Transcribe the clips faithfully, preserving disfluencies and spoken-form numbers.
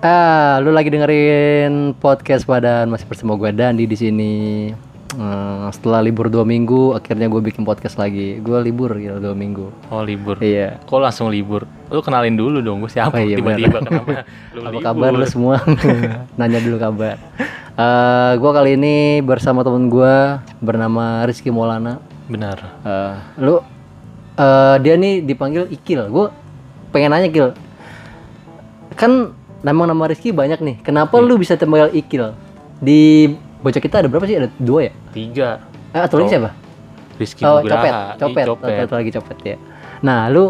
Ah, lu lagi dengerin podcast Padan, masih bersama gue Dandi di sini. Hmm, setelah libur dua minggu, akhirnya gue bikin podcast lagi. Gue libur gitu dua minggu. Oh libur. Iya. Kok langsung libur? Lu kenalin dulu dong, gue siapa? Oh, iya, tiba-tiba kenapa? Lu Apa libur? kabar lu semua? Nanya dulu kabar. Uh, gue kali ini bersama temen gue bernama Rizky Maulana. Benar. Uh, lu, uh, dia nih dipanggil Ikil. Gue pengen nanya Kil. Kan nama-nama Rizky banyak nih. Kenapa Hmm. lu bisa dipanggil Ikil? Di bocah kita ada berapa sih? Ada dua ya? Tiga. Eh, atau lagi Oh, siapa? Rizky Oh, Nugraha. Copet, Ih, Copet, Copet. Atau, atau lagi Copet ya. Nah, lu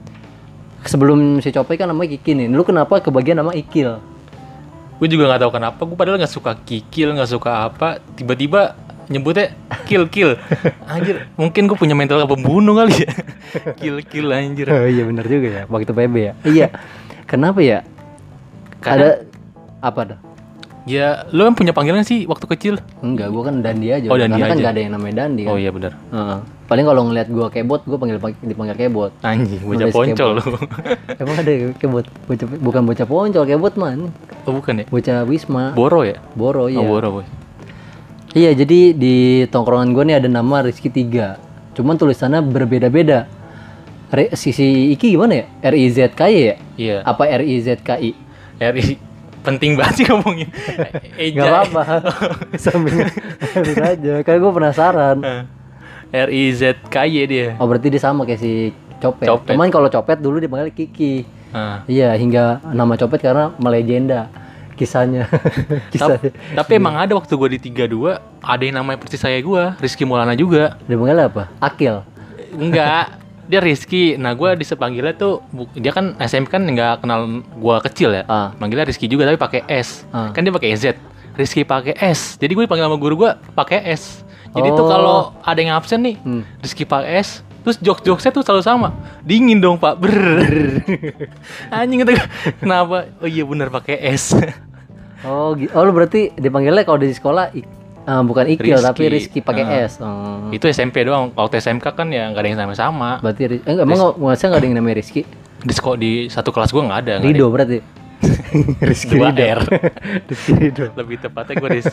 sebelum si Copet kan namanya Kiki nih. Lu kenapa kebagian nama Ikil? Gue juga nggak tahu kenapa. Gue padahal nggak suka kikil, nggak suka apa. Tiba-tiba nyebutnya kill kill. Anjir, mungkin gue punya mental pembunuh kali ya. Kill kill anjir. Oh iya benar juga ya. Waktu P B ya. Iya. Kenapa ya? Karena Ada apa dah? ya lu kan punya panggilan sih waktu kecil. Enggak, gua kan Dandi aja. Oh, Dandi Karena kan aja. enggak ada yang namanya Dandi kan. Oh iya benar. Heeh. Paling kalau ngeliat gua kebot, gua panggil dipanggil kebot. Anjing, bocah Nulis poncol lu. Emang ada kebot? Bocah, bukan bocah poncol, kebot man. Oh bukan ya? Bocah Wisma. Boro ya? Boro iya. Oh Boro boy. Iya, jadi di tongkrongan gua nih ada nama Rizky tiga. Cuman tulisannya berbeda-beda. Re, sisi Iki gimana ya? R I Z K Y ya? Iya. Apa R I Z K I? R I penting banget sih ngomongin. Gak apa-apa. Sambil ngalir aja. Karena gue penasaran. R I Z K Y dia. Oh berarti dia sama kayak si Copet. Copet. Cuman kalau Copet dulu dipanggil Kiki. Ah. Iya, hingga nama Copet karena melegenda kisahnya. Tap- Kisahnya. tapi emang ada waktu gue di tiga dua ada yang namanya persis saya gue, Rizky Maulana juga. Dipanggil apa? Akil. Enggak, dia Rizky. Nah gue disepanggilnya tuh bu- dia kan S M P kan nggak kenal gue kecil ya. Ah. Manggilnya Rizky juga tapi pakai S. Ah. Kan dia pakai Z. Rizky pakai S. Jadi gue dipanggil sama guru gue pakai S. Jadi Oh. tuh kalau ada yang absen nih, Hmm. Rizky pakai S. Terus jok-joknya tuh selalu sama. Dingin dong pak. Brrrr. Anjing kata gue. Kenapa? Oh iya benar pakai S. Oh, gi- oh lu berarti dipanggilnya kalau di sekolah ik- eh, bukan Ikil Rizky. tapi Rizky pakai Ah. S. Oh. Itu S M P doang. Waktu S M K kan ya nggak ada yang sama-sama. Berarti Riz- eh, emang nggak masa nggak ada yang namanya Rizky? Di sekolah di satu kelas gue nggak ada. nggak ada Rido berarti. Rizky Dua Rido. R. Rizky Rido. Lebih tepatnya gue di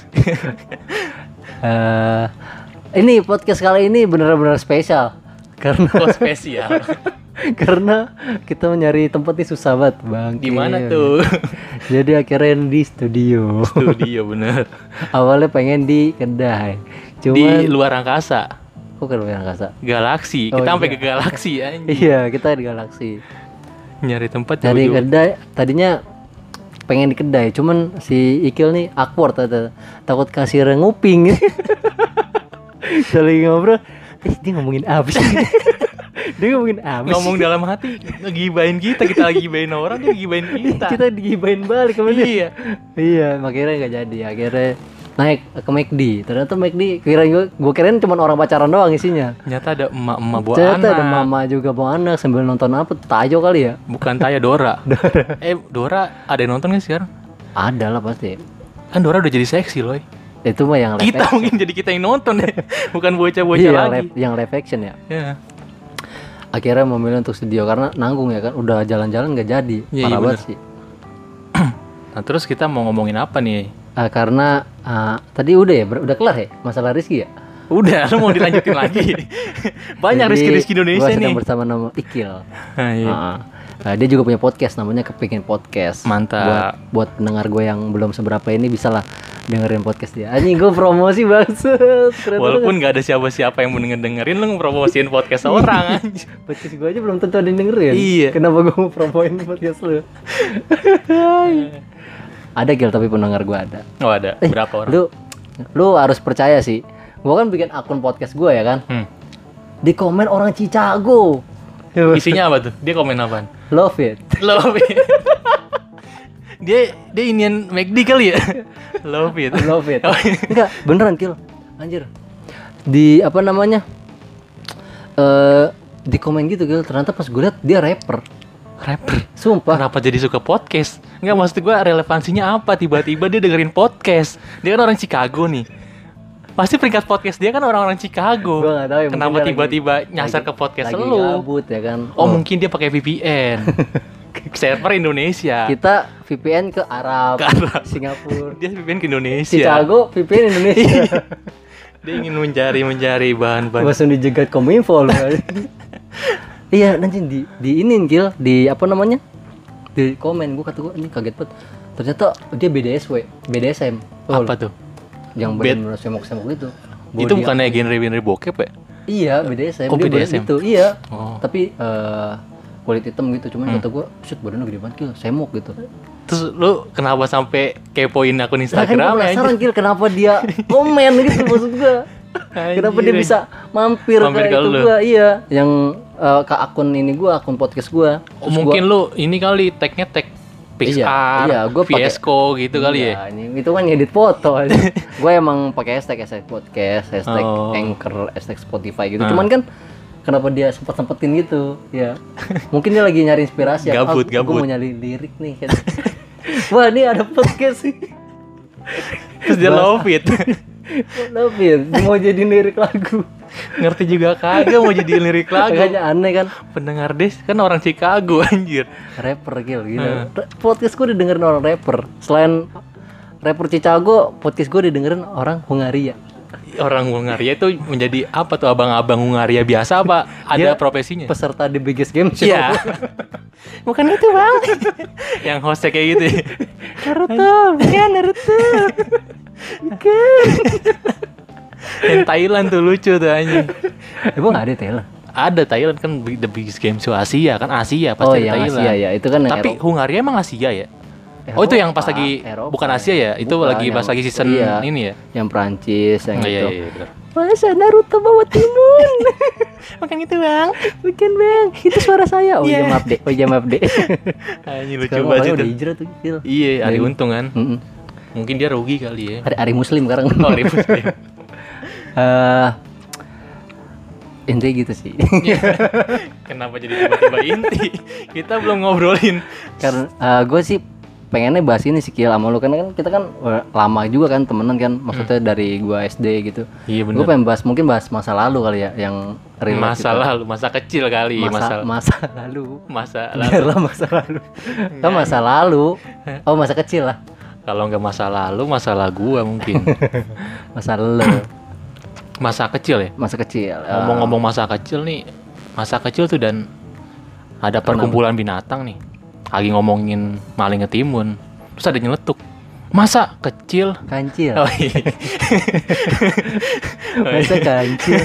Eh, ini podcast kali ini benar-benar spesial karena oh, spesial. karena kita mencari tempat ini susah banget bang. Di mana tuh? Jadi akhirnya di studio. Studio bener. Awalnya pengen di kedai, Di cuman luar angkasa. kok ke luar angkasa? Galaksi. Oh, Kita sampai iya. ke galaksi anjing. Iya, kita di galaksi. Nyari tempat Cari jauh-jauh. kedai, tadinya pengen di kedai, cuman si Ikil nih awkward tata. Takut kasir nguping. Saling ngobrol, eh dia ngomongin apa sih? Dia ngomongin apa sih? Ngomong dalam hati ngegibain kita, kita lagi gibain orang, dia gibain kita. Kita digibain balik ke dia. Iya. Iya, akhirnya nggak jadi. Akhirnya naik ke McD. Ternyata McD kira gue gue kirain cuma orang pacaran doang isinya. Ternyata ada emak-emak bawa Ternyata anak. ada mama juga bawa anak sambil nonton apa? Tayo kali ya? Bukan Taya, Dora. Eh, Dora ada yang nonton nggak sih sekarang? Ada lah pasti. Kan Dora udah jadi seksi loh. Itu mah yang live Kita action. mungkin jadi kita yang nonton deh. Bukan bocah-bocah Iya, yang lagi. live, yang live action ya. Ya. Akhirnya memilih untuk studio karena nanggung ya kan. Udah jalan-jalan nggak jadi. Iya, Parah iya, banget bener. sih. Nah, terus kita mau ngomongin apa nih? Ah, karena ah, tadi udah ya, ber- udah kelar ya masalah Rizky ya. Udah, lu mau dilanjutin lagi? Banyak Jadi, Rizky-Rizky Indonesia gua sedang nih. bersama nama Ikil. Nah, iya. Ah, ah, dia juga punya podcast namanya Kepingin Podcast. Mantap. Buat buat pendengar gue yang belum seberapa ini bisa lah dengerin podcast dia. Anjing gue promosi banget. Keren Walaupun banget. nggak ada siapa-siapa yang mau denger dengerin, lu ngepromosiin podcast orang anjir. Podcast gue aja belum tentu ada yang dengerin. Iya. Kenapa gue mau promoin podcast lu? Ada Gil tapi pendengar gue ada. Oh ada, Eh, berapa orang? Lu lu harus percaya sih. Gue kan bikin akun podcast gue ya kan. Hmm. Di komen orang Chicago. Isinya apa tuh? Dia komen apaan? Love it. Love it. dia dia inian McD kali ya? Love it. Love it. Oh, iya. Enggak, beneran Kil. Anjir. Di apa namanya? Eh di komen gitu Gil, ternyata pas gue liat dia rapper. Rapper. Sumpah. Kenapa jadi suka podcast? Enggak, maksud gue relevansinya apa? Tiba-tiba dia dengerin podcast. Dia kan orang Chicago nih. Pasti peringkat podcast dia kan orang-orang Chicago. Gua nggak tahu ya, mungkin Kenapa dia tiba-tiba lagi- nyasar lagi- ke podcast lagi lu? gabut ya kan. Oh, mungkin dia pakai V P N. Server Indonesia. Kita V P N ke Arab, Ke Arab. Singapura. Dia V P N ke Indonesia. Chicago V P N Indonesia. Dia ingin mencari-mencari bahan-bahan. Langsung dijegat Kominfo lu. Iya, nanti di di inin Gil, di apa namanya? Di komen gua kata gua ini kaget banget. Ternyata dia B D S W, B D S M. Oh, Apa tuh? yang Bed- benar-benar semok-semok gitu. Itu Body bukannya genre-genre bokep ya? Iya, B D S M. Oh, Dia B D S M. bener gitu. Iya. Oh. Tapi eh kulit hitam gitu, cuman Hmm. kata gua, "Shit, badannya gede banget, Gil. Semok gitu." Terus lu kenapa sampai kepoin akun Nah, kan gua Instagram ya? penasaran, Gil, kenapa dia komen gitu maksud gua. Kenapa dia bisa mampir, Mampir ke ke itu lu. gua? Iya, yang eh, ke akun ini gua, akun podcast gua. Oh, Terus mungkin gua, lu ini kali tag-nya tag Pixar, iya, gua pakai- Fiesco gitu kali ya. Iya, ini itu kan ngedit foto. Gua emang pakai hashtag hashtag podcast, hashtag Oh. Anchor, hashtag Spotify gitu. Ah. Cuman kan kenapa dia sempet-sempetin gitu? Ya. Mungkin dia lagi nyari inspirasi ya. Gabut, Ah, gua gabut. mau nyari lirik nih kan. Wah, ini ada podcast sih. Terus dia love it. Tapi ya, dia mau jadi lirik lagu. Ngerti juga kagak mau jadi lirik lagu. Makanya aneh kan. Pendengar Des kan orang Chicago anjir. Rapper Gil gitu. Hmm. Podcast gue didengerin orang rapper. Selain rapper Chicago, podcast gue didengerin orang Hungaria. Orang Hungaria itu menjadi apa tuh abang-abang Hungaria biasa apa ada Dia profesinya? Peserta The Biggest Game Show. Iya. Bukan itu bang. Yang hostnya kayak gitu. Ya. Naruto, bukan Naruto. Bukan. Yang Thailand tuh lucu tuh anjing. Emang nggak ada Thailand? Ada Thailand kan the biggest game show Asia kan Asia pasti Oh, ada yang Thailand. Asia ya, itu kan yang Tapi Eropa. Hungaria emang Asia ya? Oh itu yang pas Eropa, lagi Eropa. bukan Asia ya? Itu Bukan, lagi pas yang- lagi season iya, ini ya? Yang Prancis, yang Oh, iya, itu. iya, iya, benar. Masa Naruto bawa timun? Bukan itu bang. Bukan bang, itu suara saya. Oh iya Iya. maaf deh, oh iya maaf deh. Anjing lucu Sekarang banget orangnya itu. udah hijrah tuh. Gil. Iya, Ari Dari- Untung kan. Mm-mm. Mungkin dia rugi kali ya. Ari, Ari Muslim sekarang. Oh, Ari Muslim. Eh, intinya gitu sih. Kenapa jadi tiba-tiba inti? Kita belum ngobrolin. Karena gue sih pengennya bahas ini sih Kiel sama lu, karena kan kita kan eh, lama juga kan temenan kan, maksudnya dari gua S D gitu. Iya Gue benar. pengen bahas mungkin bahas masa lalu kali ya, yang relate Masa gitu. lalu, masa kecil kali, masa masa masa lalu. masa lalu. Biarlah masa lalu. Kan masa lalu. Oh masa kecil lah. Kalau nggak masa lalu, masalah gua mungkin. Masa lalu. Masa kecil ya. Masa kecil. Eh, Ngomong-ngomong masa kecil nih, masa kecil tuh dan ada perkumpulan binatang nih. Lagi ngomongin maling ketimun, terus ada nyeletuk. Masa kecil? kancil. Oh iya. Masa kancil.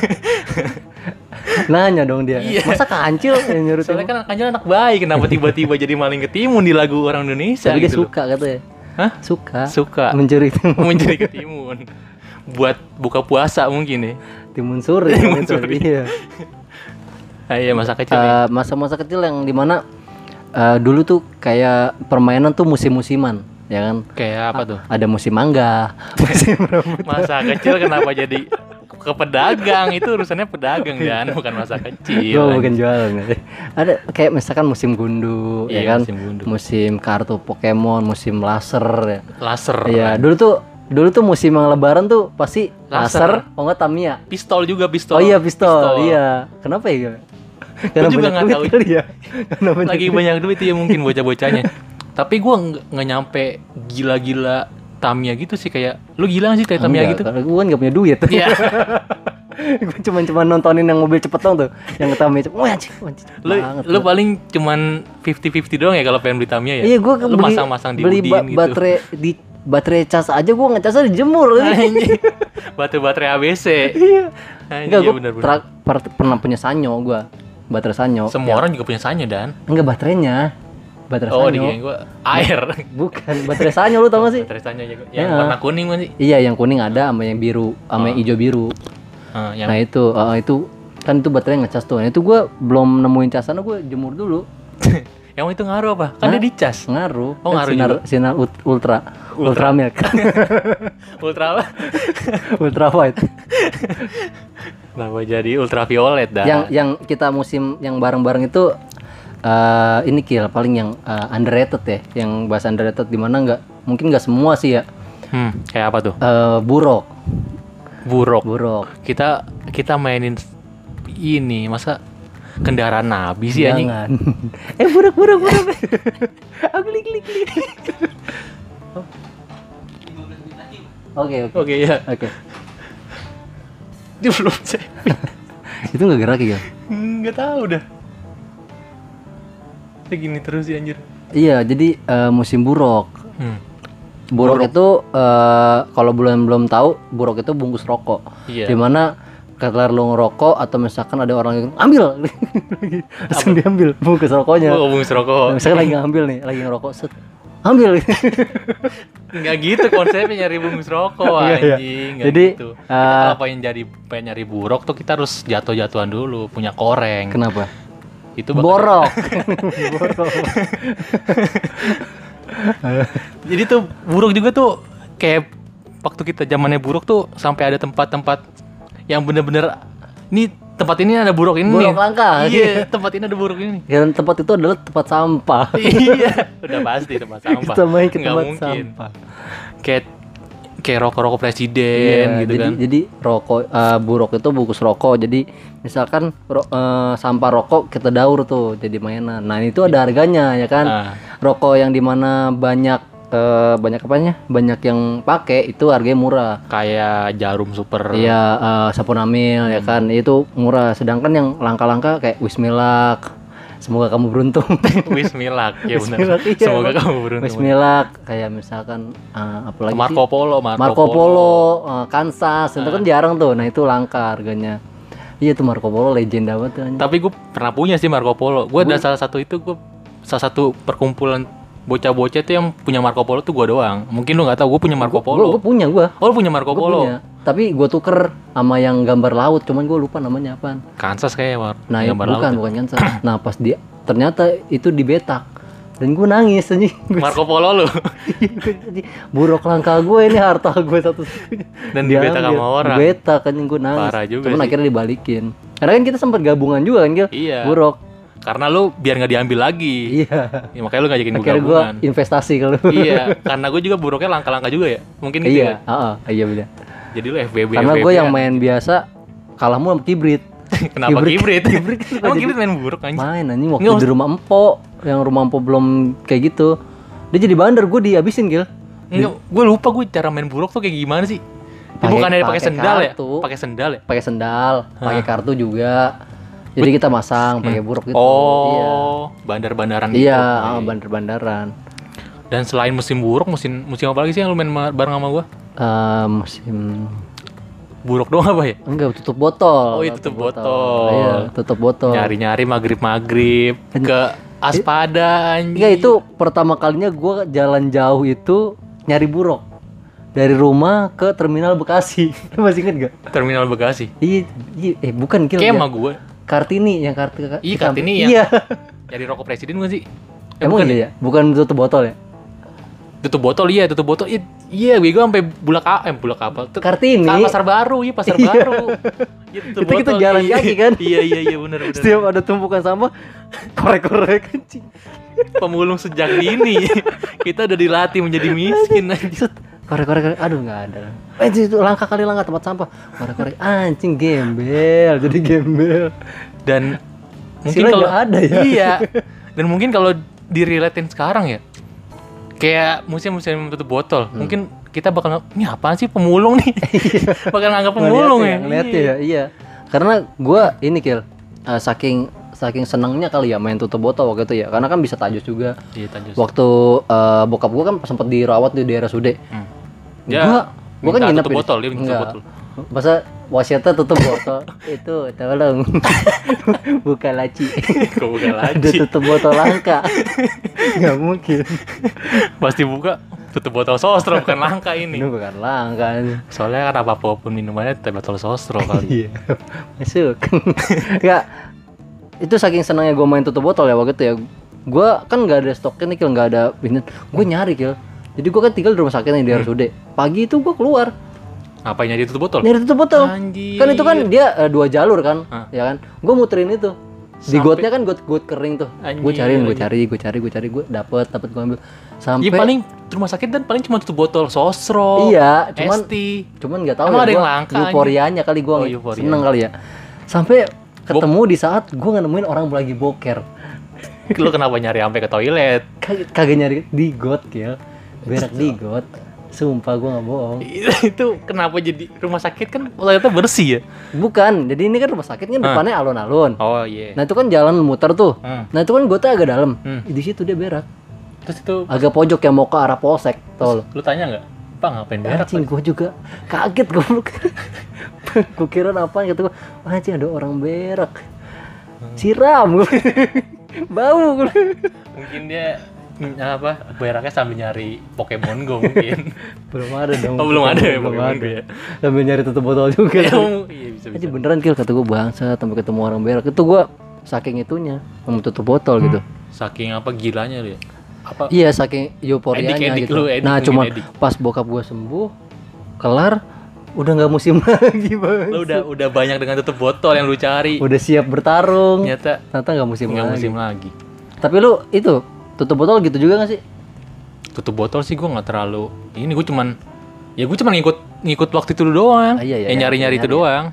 Nanya dong dia. Iya. Masa kancil yang nyuruh Soalnya timun? kan Kancil anak baik, kenapa tiba-tiba jadi maling ketimun di lagu orang Indonesia Tapi dia gitu loh. suka katanya. Hah? Suka. Suka Mencuri timun. mencari ketimun. Buat buka puasa mungkin ya. Timun suri. Timun gitu. suri. Iya. Ah, iya masa kecil nih. Eh, masa-masa kecil yang dimana eh, dulu tuh kayak permainan tuh musim-musiman, ya kan? Kayak apa tuh? Ada musim mangga, musim rambutan. Masa kecil kenapa jadi ke pedagang? Itu urusannya pedagang dan bukan masa kecil. Oh, bukan jualan. ya. Ada kayak misalkan musim gundu, Iya, ya kan? musim gundu. Musim kartu Pokemon, musim laser. Ya. Laser. Iya, dulu tuh dulu tuh musim yang lebaran tuh pasti Laser. laser, oh enggak Tamiya. Pistol juga pistol. Oh iya pistol, iya. Kenapa ya? Karena juga banyak nggak duit tahu. kali ya. Karena banyak Lagi duit. banyak duit ya mungkin bocah-bocahnya. Tapi gua nggak nggak nyampe gila-gila Tamiya gitu sih, kayak lu gila nggak sih kayak Tamiya Enggak, gitu? karena gue kan gak punya duit. Iya. Gue cuma cuma nontonin yang mobil cepet dong tuh, yang Tamiya cepet. Wah, anjing, anjing, cepet Lu banget lu tuh. paling cuman fifty fifty doang ya kalau pengen beli Tamiya ya? Iya, gue lu beli, masang-masang di beli udin ba- gitu. baterai di baterai cas aja gue ngecasnya dijemur. Anjing. Baterai-baterai A B C. Iya. Anjing, Enggak, iya gue bener-bener. tra- per- pernah punya Sanyo gue, baterai Sanyo. Semua Ya, orang juga punya Sanyo dan. enggak baterainya, baterai Oh, Sanyo. dikirain gua air. Bukan, baterai Sanyo lu tau gak sih? Baterai Sanyo aja. Yang Ya. warna kuning kan sih? Iya, yang kuning ada sama yang biru, sama yang Oh. hijau biru. Ah, yang Nah itu, eh, itu kan itu baterai ngecas tuh. Nah, itu gue belum nemuin casannya, gue jemur dulu. yang itu ngaruh apa? Kan Hah? dia dicas. Ngaruh. Oh, Kan ngaruh sinar, juga. sinar ut- ultra, ultra, Ultra. milk, Ultra apa? ultra white. Kenapa jadi ultraviolet dah? Yang yang kita musim yang bareng-bareng itu eh ini Kill paling yang eh, underrated ya, yang bahasa underrated di mana nggak mungkin nggak semua sih ya. Hmm, kayak apa tuh? Eh, burok, Buruk. burok. Kita kita mainin ini, masa kendaraan nabi sih anjing. Jangan. eh buruk buruk buruk. Aku klik klik klik. Oke oke. Oke ya. Oke. Dia belum sih. Itu nggak gerak ya? Nggak tahu dah. Kayak gini terus sih anjir. Iya, jadi uh, musim buruk. Hmm. Buruk, buruk itu uh, kalau belum belum tahu, buruk itu bungkus rokok. Iya. Dimana kelar lu ngerokok atau misalkan ada orang yang ambil, langsung diambil bungkus rokoknya. Oh, bungkus rokok. Misalkan lagi ngambil nih, lagi ngerokok, set, ambil. Nggak gitu konsepnya nyari bungkus rokok Iya, iya. anjing. Nggak Jadi, gitu. Kita uh, kalau pengen jadi pengen nyari buruk tuh kita harus jatuh-jatuhan dulu, punya koreng. Kenapa? Itu bakal- Borok. Borok. Jadi tuh buruk juga tuh kayak waktu kita zamannya buruk tuh sampai ada tempat-tempat yang bener-bener ini tempat ini ada buruk ini Buruk nih. langka. Iya, tempat ini ada buruk ini. Dan tempat itu adalah tempat sampah. Iya, udah pasti tempat sampah. Kita main ke Nggak tempat mungkin. sampah. Kayak kayak rokok-rokok presiden Iya, gitu jadi, kan. Jadi rokok uh, buruk itu bungkus rokok. Jadi misalkan ro- uh, sampah rokok kita daur tuh jadi mainan. Nah itu ada harganya ya kan. Ah. Rokok yang dimana banyak uh, banyak apanya? Banyak yang pakai itu harganya murah. Kayak jarum super. Iya uh, Saponamil ya kan itu murah. Sedangkan yang langka-langka kayak Wismilak. Semoga kamu beruntung. Wismilak, ya benar. Wismilak, iya. Semoga kamu beruntung. Wismilak kayak misalkan uh, apa lagi Marco sih? Polo, Marco, Marco Polo, uh, Kansas, itu kan jarang tuh. Nah itu langka harganya. Iya tuh Marco Polo legenda banget tuh. Tapi gue pernah punya sih Marco Polo. Gue ada salah satu itu gue salah satu perkumpulan bocah-bocah tuh yang punya Marco Polo tuh gue doang. Mungkin lu nggak tahu gue punya Marco Polo. Gue punya gue. Oh lu punya Marco Gua Polo? punya. Tapi gue tuker sama yang gambar laut, cuman gue lupa namanya apaan. Kansas kayak Mar. Nah Gambar bukan laut. bukan Kansas. Nah pas dia ternyata itu dibetak dan gue nangis anjing. Marco Polo lu. Buruk langka gue ini harta gue satu-satunya. Dan dibetak sama orang. Dibetak kan gue nangis. Parah juga Cuman sih. akhirnya dibalikin. Karena kan kita sempat gabungan juga kan Gil. Iya. Buruk. Karena lu biar nggak diambil lagi. Iya. Ya, makanya lu ngajakin gue Akhirnya gue gabungan. investasi kalau. Iya, karena gue juga buruknya langka-langka juga ya. Mungkin gitu Iya, ya. heeh, iya benar. Jadi lu F B B. Karena F B B gue yang kan. main biasa kalahmu sama kibrit. Kenapa kibrit? Kibrit kan Emang jadi- kibrit main buruk anjing. Main anjing waktu Nggak, di rumah empok, yang rumah empok belum kayak gitu. Dia jadi bandar, gue dihabisin Gil. Enggak, gue lupa gue cara main buruk tuh kayak gimana sih? Ya, Pakai- bukan dari pakai pakai sendal ya? kartu. Pakai sendal ya? Pakai sendal, pakai kartu juga. Jadi kita masang pakai buruk gitu. Oh, bandar-bandaran gitu. Iya, Oh, ah, bandar-bandaran. Dan selain musim buruk, musim musim apa lagi sih yang lu main ma- bareng sama gua? Eh, musim Buruk doang apa ya? enggak tutup botol. Oh, iya, tutup botol. Iya, tutup botol. Nyari-nyari maghrib-maghrib ke Aspada anjing. Enggak itu pertama kalinya gue jalan jauh itu nyari buruk dari rumah ke terminal Bekasi. Lu masih inget gak? Terminal Bekasi. Iya, iya, eh bukan Gil. Kayak ya. sama gue. Kartini yang kartu Iya, Kartini yang- Iya. Nyari rokok presiden gak sih? Eh, Emang bukan iya ya? Bukan tutup botol ya? Tutup botol iya, tutup botol. Iya, iya gue sampai bulak A- eh bulak kapal. Tuh, Kartini. Ka- pasar baru, iya pasar Iya. baru. Iya, tutup Itu kita botol, jalan iya. kaki kan? Iya, iya, iya benar benar. Setiap ada tumpukan sampah, korek-korek anjing. Pemulung sejak dini. Kita udah dilatih menjadi miskin anjing. Set, korek-korek, aduh nggak ada. Eh itu langka kali langka tempat sampah. Korek-korek, anjing gembel, jadi gembel. Dan mungkin Sila kalau nggak ada ya? Iya. Dan mungkin kalau direlatin sekarang ya. Kayak musim-musim tutup botol, Hmm. mungkin kita bakal nge- ini apaan sih pemulung nih? bakal nganggap pemulung ya. Ngeliat ya, iya. Karena gua ini Kil, eh, saking saking senangnya kali ya main tutup botol waktu itu ya. Karena kan bisa tajus juga. Iya, tajus. Waktu eh, bokap gua kan sempat dirawat di daerah Sude. Hmm. Gua gua kan minta nginep tutup di- botol, dia minta tutup Enggak. botol. Masa wasiatnya tutup botol itu tolong buka laci. Kok bukan Ada lagi. tutup botol langka. Nggak mungkin. Pasti buka tutup botol sosro bukan langka ini. Ini bukan langka. Soalnya kan apapun minumannya teh botol sosro kali. Iya. Masuk. Enggak. Itu saking senangnya gue main tutup botol ya waktu itu ya. Gue kan nggak ada stoknya nih Kil, nggak ada ini. Gue nyari Kil. Jadi gue kan tinggal di rumah sakit nih di R S U D. Pagi itu gue keluar Ngapain nyari tutup botol? nyari tutup botol. Anjir. Kan itu kan dia eh, dua jalur kan, Hah. ya kan. Gue muterin itu. Di Sampai- gotnya kan got got kering tuh. Gue Anjir, cariin, gue anjir. cari, gue cari, gue cari, gue dapet, dapet gue ambil. Sampai Iya paling rumah sakit dan paling cuma tutup botol sosro. Iya, cuman Esti. cuman nggak tahu Emang ya ada yang gua langka, euforianya kali gue Oh, euforia. seneng kali ya. Sampai ketemu di saat gue nggak nemuin orang lagi boker. Lu kenapa nyari sampai ke toilet? Kagak, kagak nyari di got ya, berak di got. Sumpah gue nggak bohong. Itu kenapa jadi rumah sakit kan toiletnya bersih ya? Bukan, jadi ini kan rumah sakit kan depannya alun-alun. Oh iya. Nah itu kan jalan muter tuh. Hmm. Nah itu kan gotnya agak dalam. Hmm. Di situ dia berak. Terus itu Agak pojok yang mau ke arah polsek, tau lo. lu tanya nggak? Pak ngapain berak? Anjing gue juga kaget goblok. Gue kira apaan kata gue, anjing ada orang berak. Siram gue. Bau gue. Mungkin dia mm, apa beraknya sambil nyari Pokemon Go mungkin. Belum ada dong. Oh, belum ada ya belum Pokemon ada. Go ya. Sambil nyari tutup botol juga. Iya bisa bisa. Anjing beneran Kil, kata gue bangsa sampai ketemu orang berak. Itu gue saking itunya mau tutup botol gitu. Saking apa gilanya lu ya? Apa? Iya saking euforianya Edik-edik gitu. lu, edik Nah mungkin cuma edik. pas bokap gue sembuh, kelar, udah nggak musim lagi bang. Lu udah udah banyak dengan tutup botol yang lu cari. Udah siap bertarung. Ternyata Ternyata nggak musim nggak lagi. musim lagi. Tapi lu itu tutup botol gitu juga nggak sih? Tutup botol sih gue nggak terlalu. Ini gue cuman ya gue cuman ngikut ngikut waktu itu doang. Ah, iya, iya, ya iya, nyari-nyari itu nyari. doang.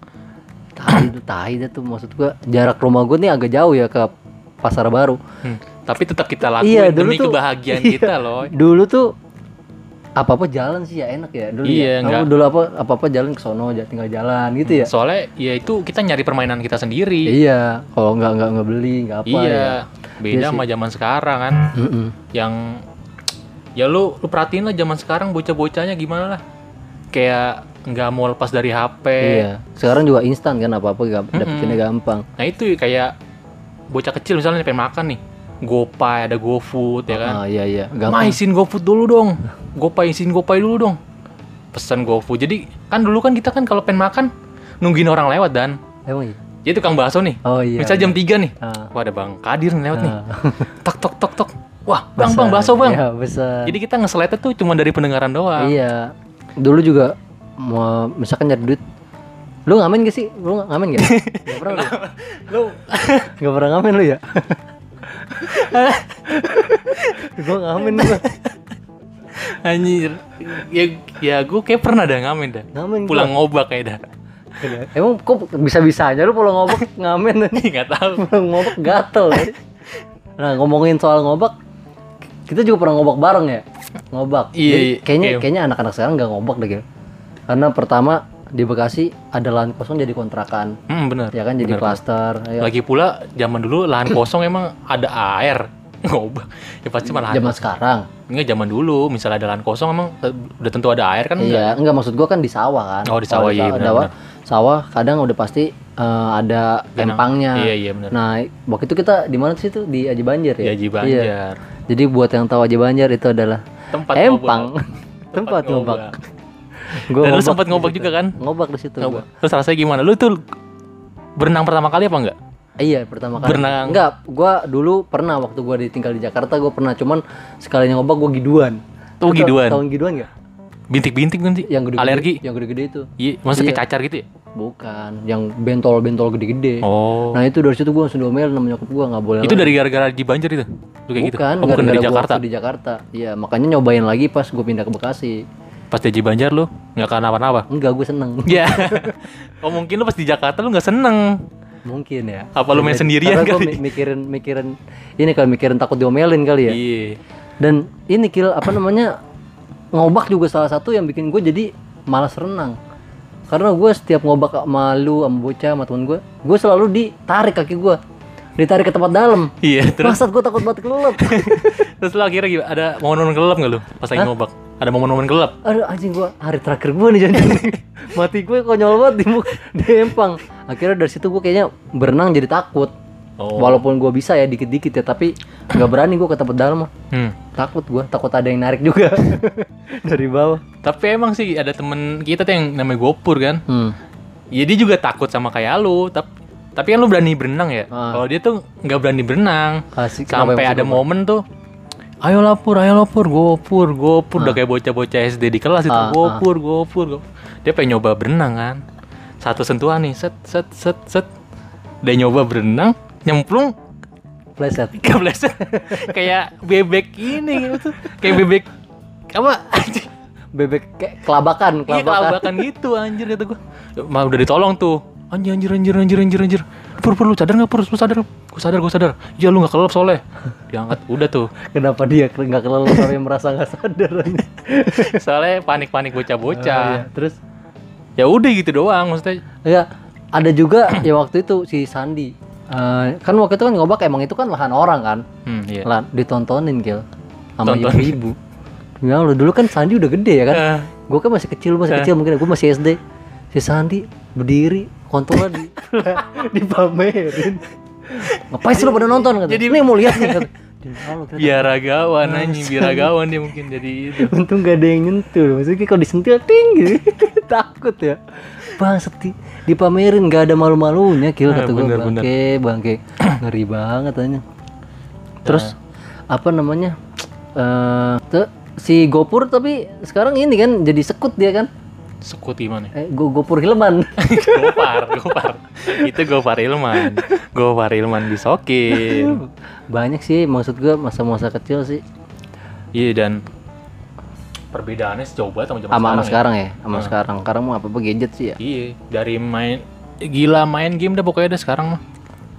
Tai itu tai dah tuh maksud gue. Jarak rumah gue nih agak jauh ya ke Pasar Baru. Hmm. Tapi tetap kita lakuin Iya, dulu demi tuh- kebahagiaan iya. kita loh. Dulu tuh apa-apa jalan sih ya enak ya dulu Iya, ya. nggak- Aku dulu apa apa-apa jalan ke sono aja tinggal jalan gitu ya. Soalnya ya itu kita nyari permainan kita sendiri. Iya, kalau nggak nggak nggak beli nggak apa Iya. ya. Beda Iya sama zaman sekarang kan. Mm-mm. Yang ya lu lu perhatiin lah zaman sekarang bocah-bocahnya gimana lah. Kayak nggak mau lepas dari H P. Iya. Sekarang juga instan kan apa-apa gam- Mm-mm. dapetinnya gampang. Nah itu kayak bocah kecil misalnya pengen makan nih. GoPay, ada GoFood ya kan. Ah iya iya, Ma gampang. isin GoFood dulu dong. GoPay isin GoPay dulu dong. Pesan GoFood. Jadi kan dulu kan kita kan kalau pengen makan nungguin orang lewat dan. Emang iya. Jadi tukang bakso nih. Oh iya. Misal jam tiga nih. Ah. Wah ada Bang Kadir nih lewat nih. Ah. Tok tok tok tok. Wah, Bang Besar. Bang bakso Bang. Iya, besar. Jadi kita nge-slide tuh cuma dari pendengaran doang. Iya. Dulu juga mau misalkan nyari duit. Lu ngamen gak sih? Lu ngamen gak? Gak pernah lu? Lu Gak pernah ngamen lu ya? Gua ngamen gua. anjir. Ya ya gue kayak pernah dah ngamen dah. Ngamen gua. Pulang ngobak kayak dah. Emang kok bisa-bisanya lu pulang ngobak ngamen? Enggak tahu. Pulang ngobak gatel ya. Nah ngomongin soal ngobak, kita juga pernah ngobak bareng ya. Ngobak. Iya, Jadi iya, kayaknya iya. kayaknya anak-anak sekarang nggak ngobak deh Gil. Karena pertama di Bekasi ada lahan kosong jadi kontrakan. Hmm, benar. Ya kan jadi Benar. klaster. Ya. Lagi pula zaman dulu lahan kosong emang ada air. Ngobak. Ya pasti malah. Zaman sekarang. Enggak zaman dulu, misalnya ada lahan kosong emang eh, udah tentu ada air kan enggak? Iya, enggak maksud gua kan di sawah kan. Oh, di Kalau sawah, iya, sa- benar, sawah, benar. sawah kadang udah pasti eh, ada Genang. empangnya. Iya, iya, benar. Nah, waktu itu kita di mana sih tuh? Di Aji Banjar ya? Di Aji Iya. Banjar. Jadi buat yang tahu Aji Banjar itu adalah Tempat empang. ngobak. Tempat ngobak. Gua Dan lu ngobak sempat di ngobak situ. juga kan? Ngobak di situ gua. Terus rasanya gimana? Lu tuh berenang pertama kali apa enggak? Eh, iya, pertama kali. Berenang. Enggak, gua dulu pernah waktu gua ditinggal di Jakarta, gua pernah cuman sekalinya ngobak gua giduan. Oh, Lu tau- giduan. Tahu giduan enggak? Bintik-bintik nanti. Yang gede-gede. Alergi. Yang gede-gede itu. Iya, masa kayak Iya. cacar gitu ya? Bukan, yang bentol-bentol gede-gede. Oh. Nah, itu dari situ gua langsung diomelin sama nyokap gua enggak boleh. Itu lagi. dari gara-gara di Banjar itu. Lu kayak gitu. Bukan, Oh, bukan dari gara-gara gua Jakarta. waktu di Jakarta. Iya, makanya nyobain lagi pas gua pindah ke Bekasi. Pas di Banjar lu enggak kenapa-napa. Enggak, gua seneng. Iya. Oh, mungkin lu pas di Jakarta lu enggak seneng. Mungkin ya. Apa lu main Jadi- sendirian karena gua kali? mi- mikirin mikirin ini kalau mikirin takut diomelin kali ya. Iya. Dan ini Kil apa namanya? Ngobak juga salah satu yang bikin gue jadi malas renang. Karena gue setiap ngobak sama lu, sama bocah, sama temen gue, gue selalu ditarik kaki gue, ditarik ke tempat dalam. Iya, terus Maksud gue takut banget kelelep. terus lu akhirnya gimana? Ada momen-momen gelap enggak lu pas lagi Hah? ngobak? Ada momen-momen gelap? Aduh anjing gue hari terakhir gue nih jadi mati gue konyol banget di muka di empang. Akhirnya dari situ gue kayaknya berenang jadi takut. Oh. Walaupun gue bisa ya dikit-dikit ya, tapi nggak berani gue ke tempat dalam. Hmm. Takut gue, takut ada yang narik juga dari bawah. Tapi emang sih ada temen kita tuh yang namanya Gopur kan. Hmm. Ya dia juga takut sama kayak lu, tapi tapi kan lu berani berenang ya. Ah. Kalau dia tuh nggak berani berenang. Asik. Kenapa Sampai yang ada suka, momen tuh, ayo lapor, ayo lapor, Gopur, Gopur, udah kayak bocah-bocah S D di kelas itu, Ah, Gopur, Gopur, Gopur. Dia pengen nyoba berenang kan. Satu sentuhan nih, set, set, set, set. Dia nyoba berenang, nyemplung, Pleset. kepleset. Kayak bebek ini gitu. Kayak bebek apa? Bebek kayak kelabakan, Iya kelabakan. kelabakan gitu anjir kata gua. Mah udah ditolong tuh. Anjir anjir anjir anjir anjir anjir. Pur pur lu sadar enggak pur? Lu sadar? Gua sadar gua sadar. Ya lu enggak kelelep soalnya. Diangkat udah tuh. Kenapa dia nggak kelelep sampai merasa nggak sadar? Soalnya panik-panik bocah-bocah. Oh, iya. Terus Ya udah gitu doang maksudnya. ya ada juga ya waktu itu si Sandi. Eh, kan waktu itu kan ngobak emang itu kan lahan orang kan. Hmm, iya. Lah ditontonin Gil sama Tonton. ibu-ibu. Ya lo dulu kan Sandi udah gede ya kan. Eh. Gue kan masih kecil, masih Eh. kecil mungkin gue masih S D. Si Sandi berdiri, kontolnya di dipamerin. Ngapain sih lo pada nonton? Kata. Jadi- Ini mau lihat nih. Kata. Dia, "Halo," kata. Biaragawan anjing, biaragawan dia mungkin jadi itu. Untung gak ada yang nyentuh. Maksudnya kalau disentil ting gitu. Takut ya. Bang seti dipamerin gak ada malu-malunya Gil Ah, kata gue. bener, Bangke, bangke. Ngeri banget tanya. Terus apa namanya? Eh tuh, si Gopur tapi sekarang ini kan jadi sekut dia kan. Sekut gimana? Eh Go Gopur Hilman. Gopar, Gopar. Itu Gopar Ilman. Gopar Ilman disokin. Banyak sih maksud gue masa-masa kecil sih. Iya dan perbedaannya sejauh banget sama zaman Sama sama sekarang. sekarang ya, sama sekarang. Sekarang mau apa-apa gadget sih ya. Iya, dari main gila main game dah pokoknya dah sekarang mah.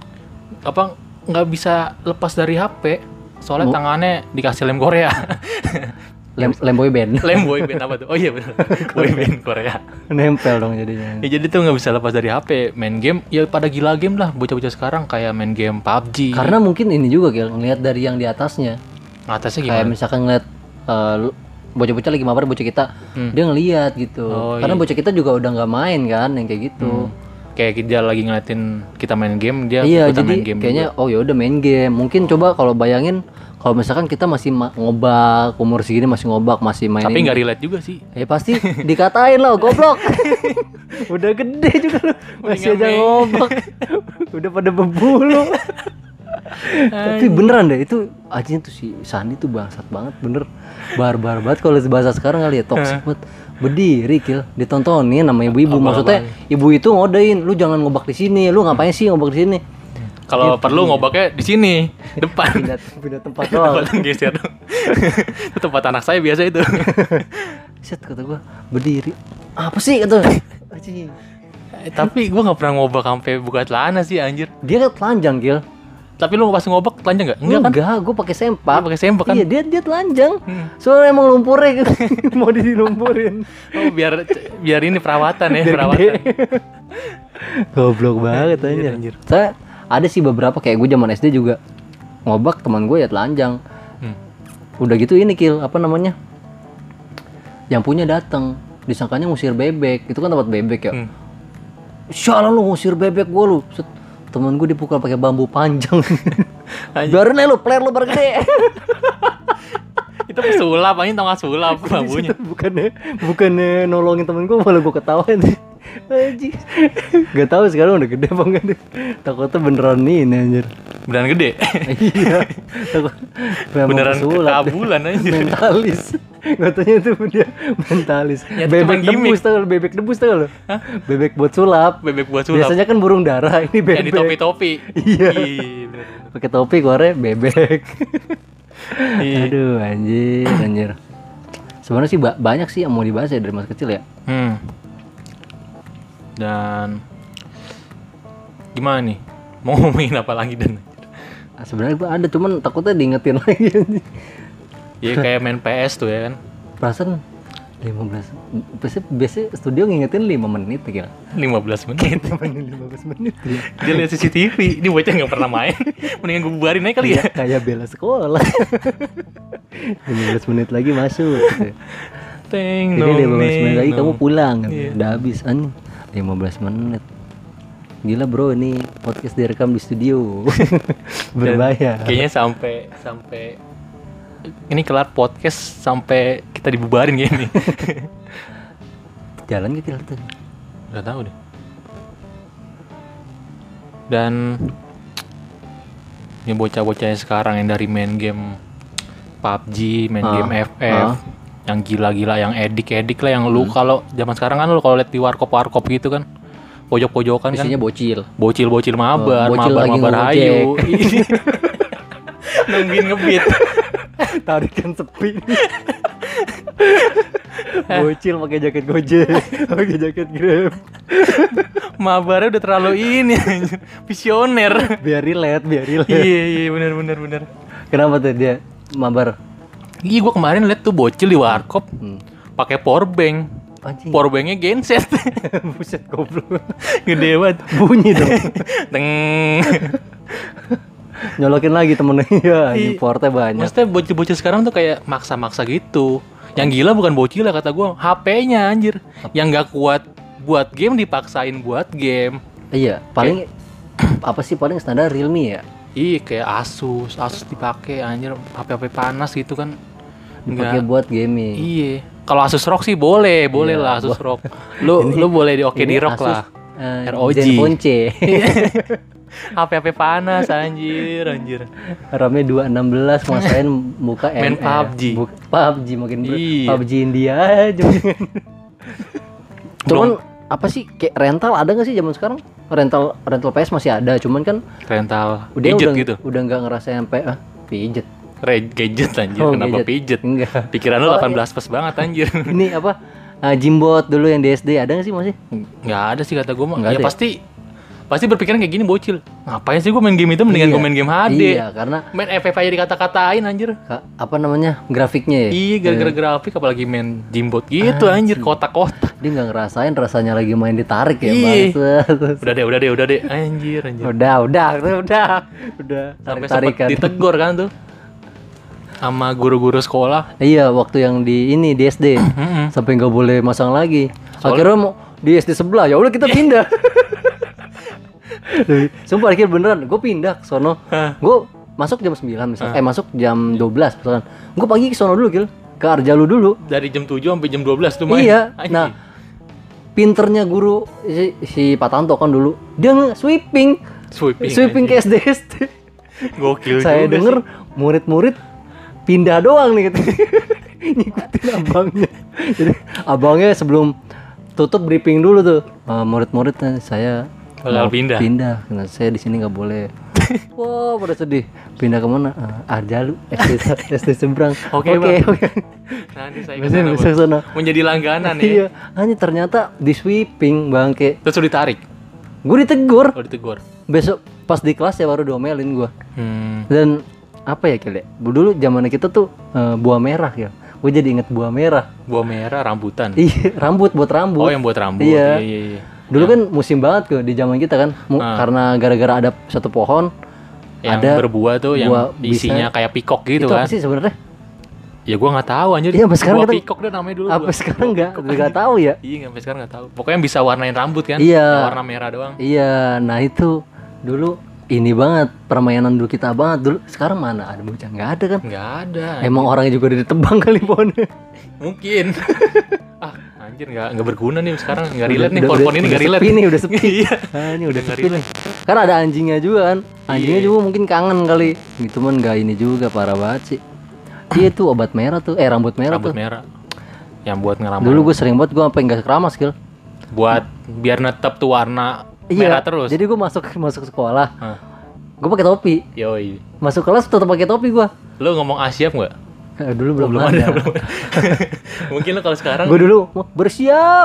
Apa nggak bisa lepas dari H P? Soalnya Oh. tangannya dikasih lem Korea. Lem, lem boy band. Lem boy band apa tuh? Oh iya benar. Boy band Korea. Nempel dong jadinya. Ya jadi tuh nggak bisa lepas dari H P. Main game ya pada gila game lah bocah-bocah sekarang kayak main game P U B G. Karena mungkin ini juga Gil, ngelihat dari yang di atasnya. atasnya Kayak gimana? misalkan ngeliat eh, lu- bocah-bocah lagi mabar bocah kita, Hmm. dia ngeliat gitu. Oh, Karena iya. bocah kita juga udah nggak main kan, yang kayak gitu. Kayak dia lagi ngeliatin kita main game, dia Iya, ikutan jadi main game kayaknya juga. oh ya udah main game. Mungkin coba kalau bayangin kalau misalkan kita masih ma- ngobak, umur segini masih ngobak, masih main Tapi ini. nggak relate juga sih. Ya pasti dikatain lah goblok. Udah gede juga lu. Masih aja main. ngobak. Udah pada berbulu. Tapi beneran deh itu aja tuh si Sandi tuh bangsat banget bener. Barbar banget kalau bahasa sekarang kali ya toxic banget. Berdiri Kil, ditontonin sama ibu-ibu. Maksudnya ibu itu ngodain, lu jangan ngobak di sini. Lu ngapain sih ngobak di sini? Kalau perlu ngobaknya di sini, depan. Pindah, pindah tempat doang. Tempat geser dong. Itu tempat anak saya biasa itu. Set kata gua, berdiri. Apa sih kata? Anjing. Eh, Tapi gua nggak pernah ngobak sampai buka celana sih anjir. Dia kan telanjang Gil. Tapi lu pas ngobak telanjang nggak? Enggak kan? Enggak, gue pakai sempak. Dia pakai sempak kan? Iya, dia dia telanjang. Hmm. Soalnya emang lumpurnya mau dilumpurin. Oh, biar biar ini perawatan ya, Biar perawatan. gede. Goblok banget Anjir, aja. anjir. Saya ada sih beberapa kayak gue zaman S D juga ngobak teman gue ya telanjang. Hmm. Udah gitu ini Kil, apa namanya? Yang punya datang, disangkanya ngusir bebek. Itu kan tempat bebek ya. Hmm. Sialan lu ngusir bebek gue lu. Set, temen gue dipukul pakai bambu panjang. Anjir. Biarin aja lu, player lu bergede. Itu pesulap, anjing tau nggak sulap bambunya. bukannya bukannya nolongin temen gue malah gue ketawain. Anjing. Gak tahu sekarang udah gede apa enggak deh. Takutnya beneran nih ini anjir. Beneran gede. Iya. Takut memang Beneran pesulap deh. kekabulan anjir. Mentalis. Katanya itu dia mentalis. Ya, itu Bebek cuma gimmick. debus tau lu, bebek debus tau lu. Bebek buat sulap. Bebek buat sulap. Biasanya kan burung dara, ini Yang bebek. di topi-topi. Iya. bener. Pakai topi keluarnya bebek. Iya. Aduh anjir, anjir. Sebenarnya sih ba- banyak sih yang mau dibahas ya dari masa kecil ya. Hmm. Dan gimana nih? Mau ngomongin apa lagi dan? Nah, sebenarnya gua ada cuman takutnya diingetin lagi anjing. Ya kayak main P S tuh ya kan. Perasaan lima belas biasanya, biasanya studio ngingetin lima menit ya. lima belas menit. lima belas menit ya. Dia lihat C C T V. Ini bocah nggak pernah main. Mendingan gue bubarin aja kali ya. Kayak bela sekolah. lima belas menit lagi masuk. Gitu. Teng Jadi lima belas menit lagi kamu pulang. Iya. Udah habis anjing. lima belas menit. Gila bro, ini podcast direkam di studio. Berbayar. Kayaknya sampai sampai ini kelar podcast sampai kita dibubarin kayaknya nih. Jalan ke kita tadi. Gak tahu deh. Dan ini bocah-bocahnya sekarang yang dari main game P U B G, main Ah, game F F, ah. yang gila-gila, yang edik-edik lah, yang lu kalau zaman sekarang kan lu kalau lihat di warkop-warkop gitu kan, pojok-pojokan kan, Isinya bocil. bocil-bocil mabar, Oh, bocil mabar, lagi mabar ngojek. hayu, nungguin ngebit. Tarikan sepi. Bocil pakai jaket Gojek, pakai jaket Grab. Mabarnya udah terlalu ini anjir. Visioner. Biar relate, biar relate. Iya iya benar benar benar. Kenapa tuh dia mabar? Iya gua kemarin liat tuh bocil di warkop Hmm. pakai power bank. Anjing. Power banknya genset. Buset goblok. Gede banget. Bunyi dong. Teng. Nyolokin lagi temennya. Ya, Iya. importnya banyak. Maksudnya bocil-bocil sekarang tuh kayak maksa-maksa gitu. Yang gila bukan bocil lah kata gua, H P-nya anjir. Yang nggak kuat buat game dipaksain buat game. Iya, paling apa sih paling standar Realme ya? Iya kayak Asus, Asus dipakai anjir H P-H P panas gitu kan. Dipakai Nggak. buat gaming. Iya. Kalau Asus ROG sih boleh, boleh Iya, lah Asus bo- ROG. Lu lu boleh di oke Ini di ROG Asus, lah. eh, R O G. Zenfone C. H P-H P panas anjir, anjir. RAM-nya dua enam belas masain muka Main M F. P U B G. Bu- P U B G makin ber- Iya. P U B G India aja. Cuman apa sih kayak rental ada nggak sih zaman sekarang? Rental rental P S masih ada, cuman kan Rental udah gadget udah gitu. udah nggak ngerasain sampai ah pijet. Re- gadget anjir, Oh, kenapa gadget. pijet? Enggak. Pikiran lu Oh, delapan belas plus banget anjir. Ini apa? Ah, Jimbot dulu yang di S D ada nggak sih masih? Nggak ada sih kata gue mah. Nggak Ya ada ya? pasti pasti berpikiran kayak gini bocil. Ngapain sih gue main game itu mendingan Iya. gue main game H D. Iya, karena Main F F aja dikata-katain anjir. ka- apa namanya? Grafiknya ya. Iya gara-gara grafik apalagi main Jimbot gitu Ah, anjir kotak-kotak. Dia nggak ngerasain rasanya lagi main ditarik ya, Iya. bangsat. Udah deh, udah deh, udah deh. Anjir, anjir. Udah, udah, udah, udah, udah. Sampai Tarik-tarikan. sempat ditegur kan tuh sama guru-guru sekolah. Iya, waktu yang di ini di S D Mm-mm. sampai nggak boleh masang lagi. Soalnya- Akhirnya mau di S D sebelah, ya udah kita pindah. Sumpah akhirnya beneran, gue pindah ke sono. Hah. Gue masuk jam sembilan misalkan, Hah. eh masuk jam dua belas misalkan. Gue pagi ke sono dulu, Gil. Ke Arjalu dulu. Dari jam tujuh sampai jam dua belas tuh main. Iya. Anjir. Nah, pinternya guru si, si Pak Tanto kan dulu, dia nge-sweeping. sweeping. Sweeping ke S D S D. Gokil Saya juga denger sih. murid-murid pindah doang nih gitu. Ngikutin abangnya. Jadi abangnya sebelum tutup briefing dulu tuh. "Eh, murid-murid eh, saya Bakal mau pindah." Pindah. Karena saya di sini nggak boleh. Wah, pada sedih. Pindah kemana? Uh, Arjalu, S D S D seberang. Oke, oke. Bang. oke. Nanti saya Bisa kesana, bisa Bang. kesana. Menjadi langganan ya. Iya, hanya ternyata di sweeping bangke. Terus lu ditarik. Gue ditegur. Oh, ditegur. Besok pas di kelas ya baru diomelin gue. Hmm. Dan apa ya Kil ya? Dulu zaman kita tuh eh, buah merah ya. Gue jadi inget buah merah. Buah merah rambutan. Iya, rambut buat rambut. Oh, yang buat rambut. Iya. iya, iya. Dulu kan musim banget tuh di zaman kita kan. Mu- Ah. Karena gara-gara ada satu pohon Yang ada berbuah tuh yang buah isinya bisa- kayak pikok gitu itu kan. apa sih sebenarnya? Ya gua nggak tahu anjir. Iya, sampai sekarang buah kita- pikok deh namanya dulu. Apa buah- sekarang buah nggak pikok, nggak anjir. tahu ya? Iya, sampai sekarang nggak tahu. Pokoknya bisa warnain rambut kan? Iya. Yang warna merah doang. Iya, nah itu dulu ini banget permainan dulu kita banget dulu. Sekarang mana ada bocah? Nggak ada kan? Nggak ada. Emang orangnya juga udah ditebang kali pohonnya. Mungkin. ah, anjir nggak nggak berguna nih sekarang. Nggak Udah- relate nih udah- pohon-pohon udah- ini nggak udah relate. sepi nih, udah sepi. Iya. Ah, ini udah Udah nggak sepi nih. Kan ada anjingnya juga kan. Anjingnya Iya. juga mungkin kangen kali. Gitu man nggak ini juga parah banget sih. Iya tuh obat merah tuh, eh rambut merah Rambut tuh. merah. Yang buat ngeramal. Dulu gue sering banget gue sampai nggak keramas Gil. Buat biar netep tuh warna Iya. merah terus. Jadi gue masuk masuk sekolah, Hah. gue pakai topi. Yoi. Masuk kelas tetap pakai topi gue. Lu ngomong Asyap nggak? Eh, dulu belum, belum ada. ada, belum ada. Mungkin lu kalau sekarang Gue dulu mau bersiap.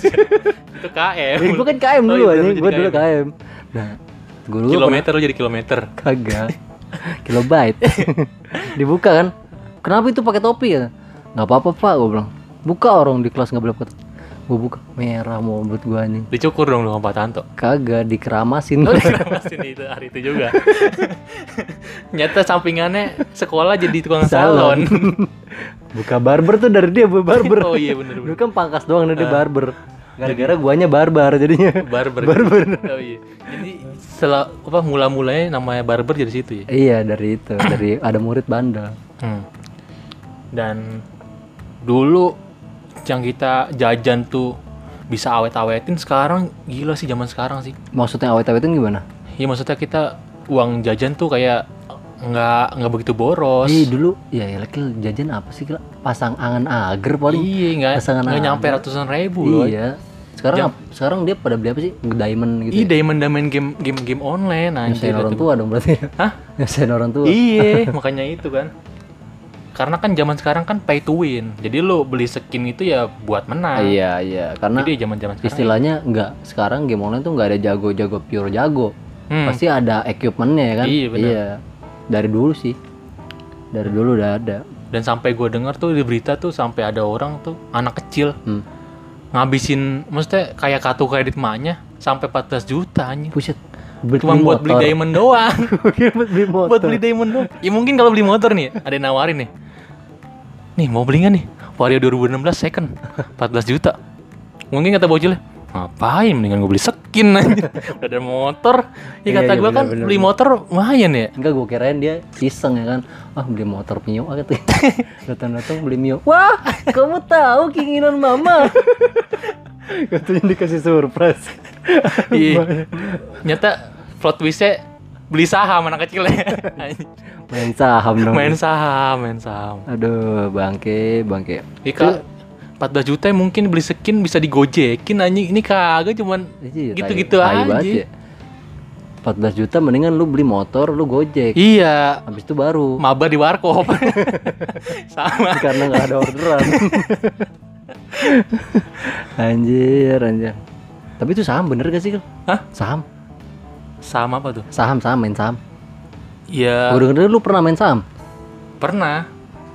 itu K M. Gue kan K M Oh, dulu iya, aja. lu jadi Gue dulu K M. K M. Nah, guru gue Kilometer lu jadi kilometer. kagak. Kilobyte. Dibuka kan. Kenapa itu pakai topi ya? Nggak apa-apa pak, gue bilang. Buka orang di kelas nggak boleh pakai. Gue buka merah mau buat gue nih. Dicukur dong lu sama Pak Tanto. Kagak dikeramasin. Oh, dikeramasin itu hari itu juga. Nyata sampingannya sekolah jadi tukang salon. Buka barber tuh dari dia bu- barber. Oh iya bener Dulu bener. kan pangkas doang dari barber. Gara-gara guanya barbar jadinya. Barber. Barber. Oh iya. Jadi setelah apa mula-mulanya namanya barber dari situ ya. Iya dari itu, dari ada murid bandel. Hmm. Dan dulu yang kita jajan tuh bisa awet-awetin, sekarang gila sih zaman sekarang sih. Maksudnya awet-awetin gimana? Ya maksudnya kita uang jajan tuh kayak nggak nggak begitu boros. Ih dulu ya ya Kil, jajan apa sih Kil? Pasang angan agar paling. Iya nggak pasangan nggak nyampe ada. ratusan ribu loh. Iya. Sekarang Jam- ap- sekarang dia pada beli apa sih? Diamond gitu. Iya ya? diamond diamond game game game online anjir. Nyusahin orang itu. tua dong berarti. Hah? Nyusahin orang tua. Iya makanya itu kan. karena kan zaman sekarang kan pay to win. Jadi lu beli skin itu ya buat menang. Iya iya, karena Jadi zaman-zaman sekarang istilahnya nggak sekarang game online tuh nggak ada jago-jago pure jago. Hmm. Pasti ada equipmentnya ya kan. Iya, benar. Dari dulu sih, dari dulu udah ada. Dan sampai gue dengar tuh di berita tuh sampai ada orang tuh anak kecil Hmm. ngabisin, maksudnya kayak kartu kredit emaknya sampai empat belas juta anjir. Buset, buat Cuma buat beli motor. diamond doang. buat beli motor. Buat beli diamond doang. Ya mungkin kalau beli motor nih, ada yang nawarin nih. Nih mau beli nggak nih? Vario dua ribu enam belas second empat belas juta. Mungkin kata bocilnya, ngapain mendingan gue beli skin aja. Udah ada motor. Ya Iya, kata iya, gue kan bener, bener, beli bener. motor lumayan ya. Enggak, gue kirain dia iseng ya kan. Ah, beli motor Mio ah katanya. Datang-datang beli Mio. Wah, kamu tahu keinginan mama. Katanya dikasih surprise. Iya. Nyata plot twistnya beli saham anak kecilnya. Main saham dong. Main saham, main saham. Aduh, bangke, bangke. Ika empat belas juta mungkin beli skin bisa digojekin anjing. Ini kagak cuman Iya, gitu-gitu tai- tai aja. banget ya. empat belas juta mendingan lu beli motor, lu Gojek. Iya, Habis itu baru. mabar di warkop. Sama. Karena nggak ada orderan. Anjir, anjir. Tapi itu saham bener gak sih, Kal? Hah? Saham? Sama apa tuh? Saham, saham, main saham. Ya, Gue denger lu pernah main saham? pernah.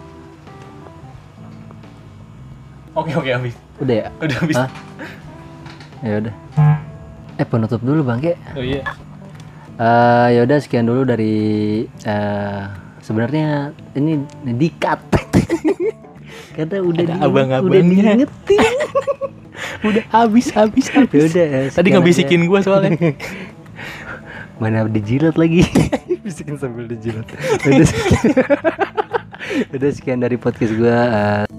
Oke, oke, habis. Udah ya? Udah habis. Hah? Ya udah. Eh, penutup dulu Bangke. Oh iya. Eh, ya udah sekian dulu dari eh sebenarnya ini di-cut. Karena udah Ada di, abang-abangnya. udah diingetin. Udah habis, habis, habis. Ya udah. Tadi sekian ngebisikin aja. gua soalnya. Mana dijilat lagi. Bisikin sambil dijilat. Udah sekian, udah sekian dari podcast gua. eh,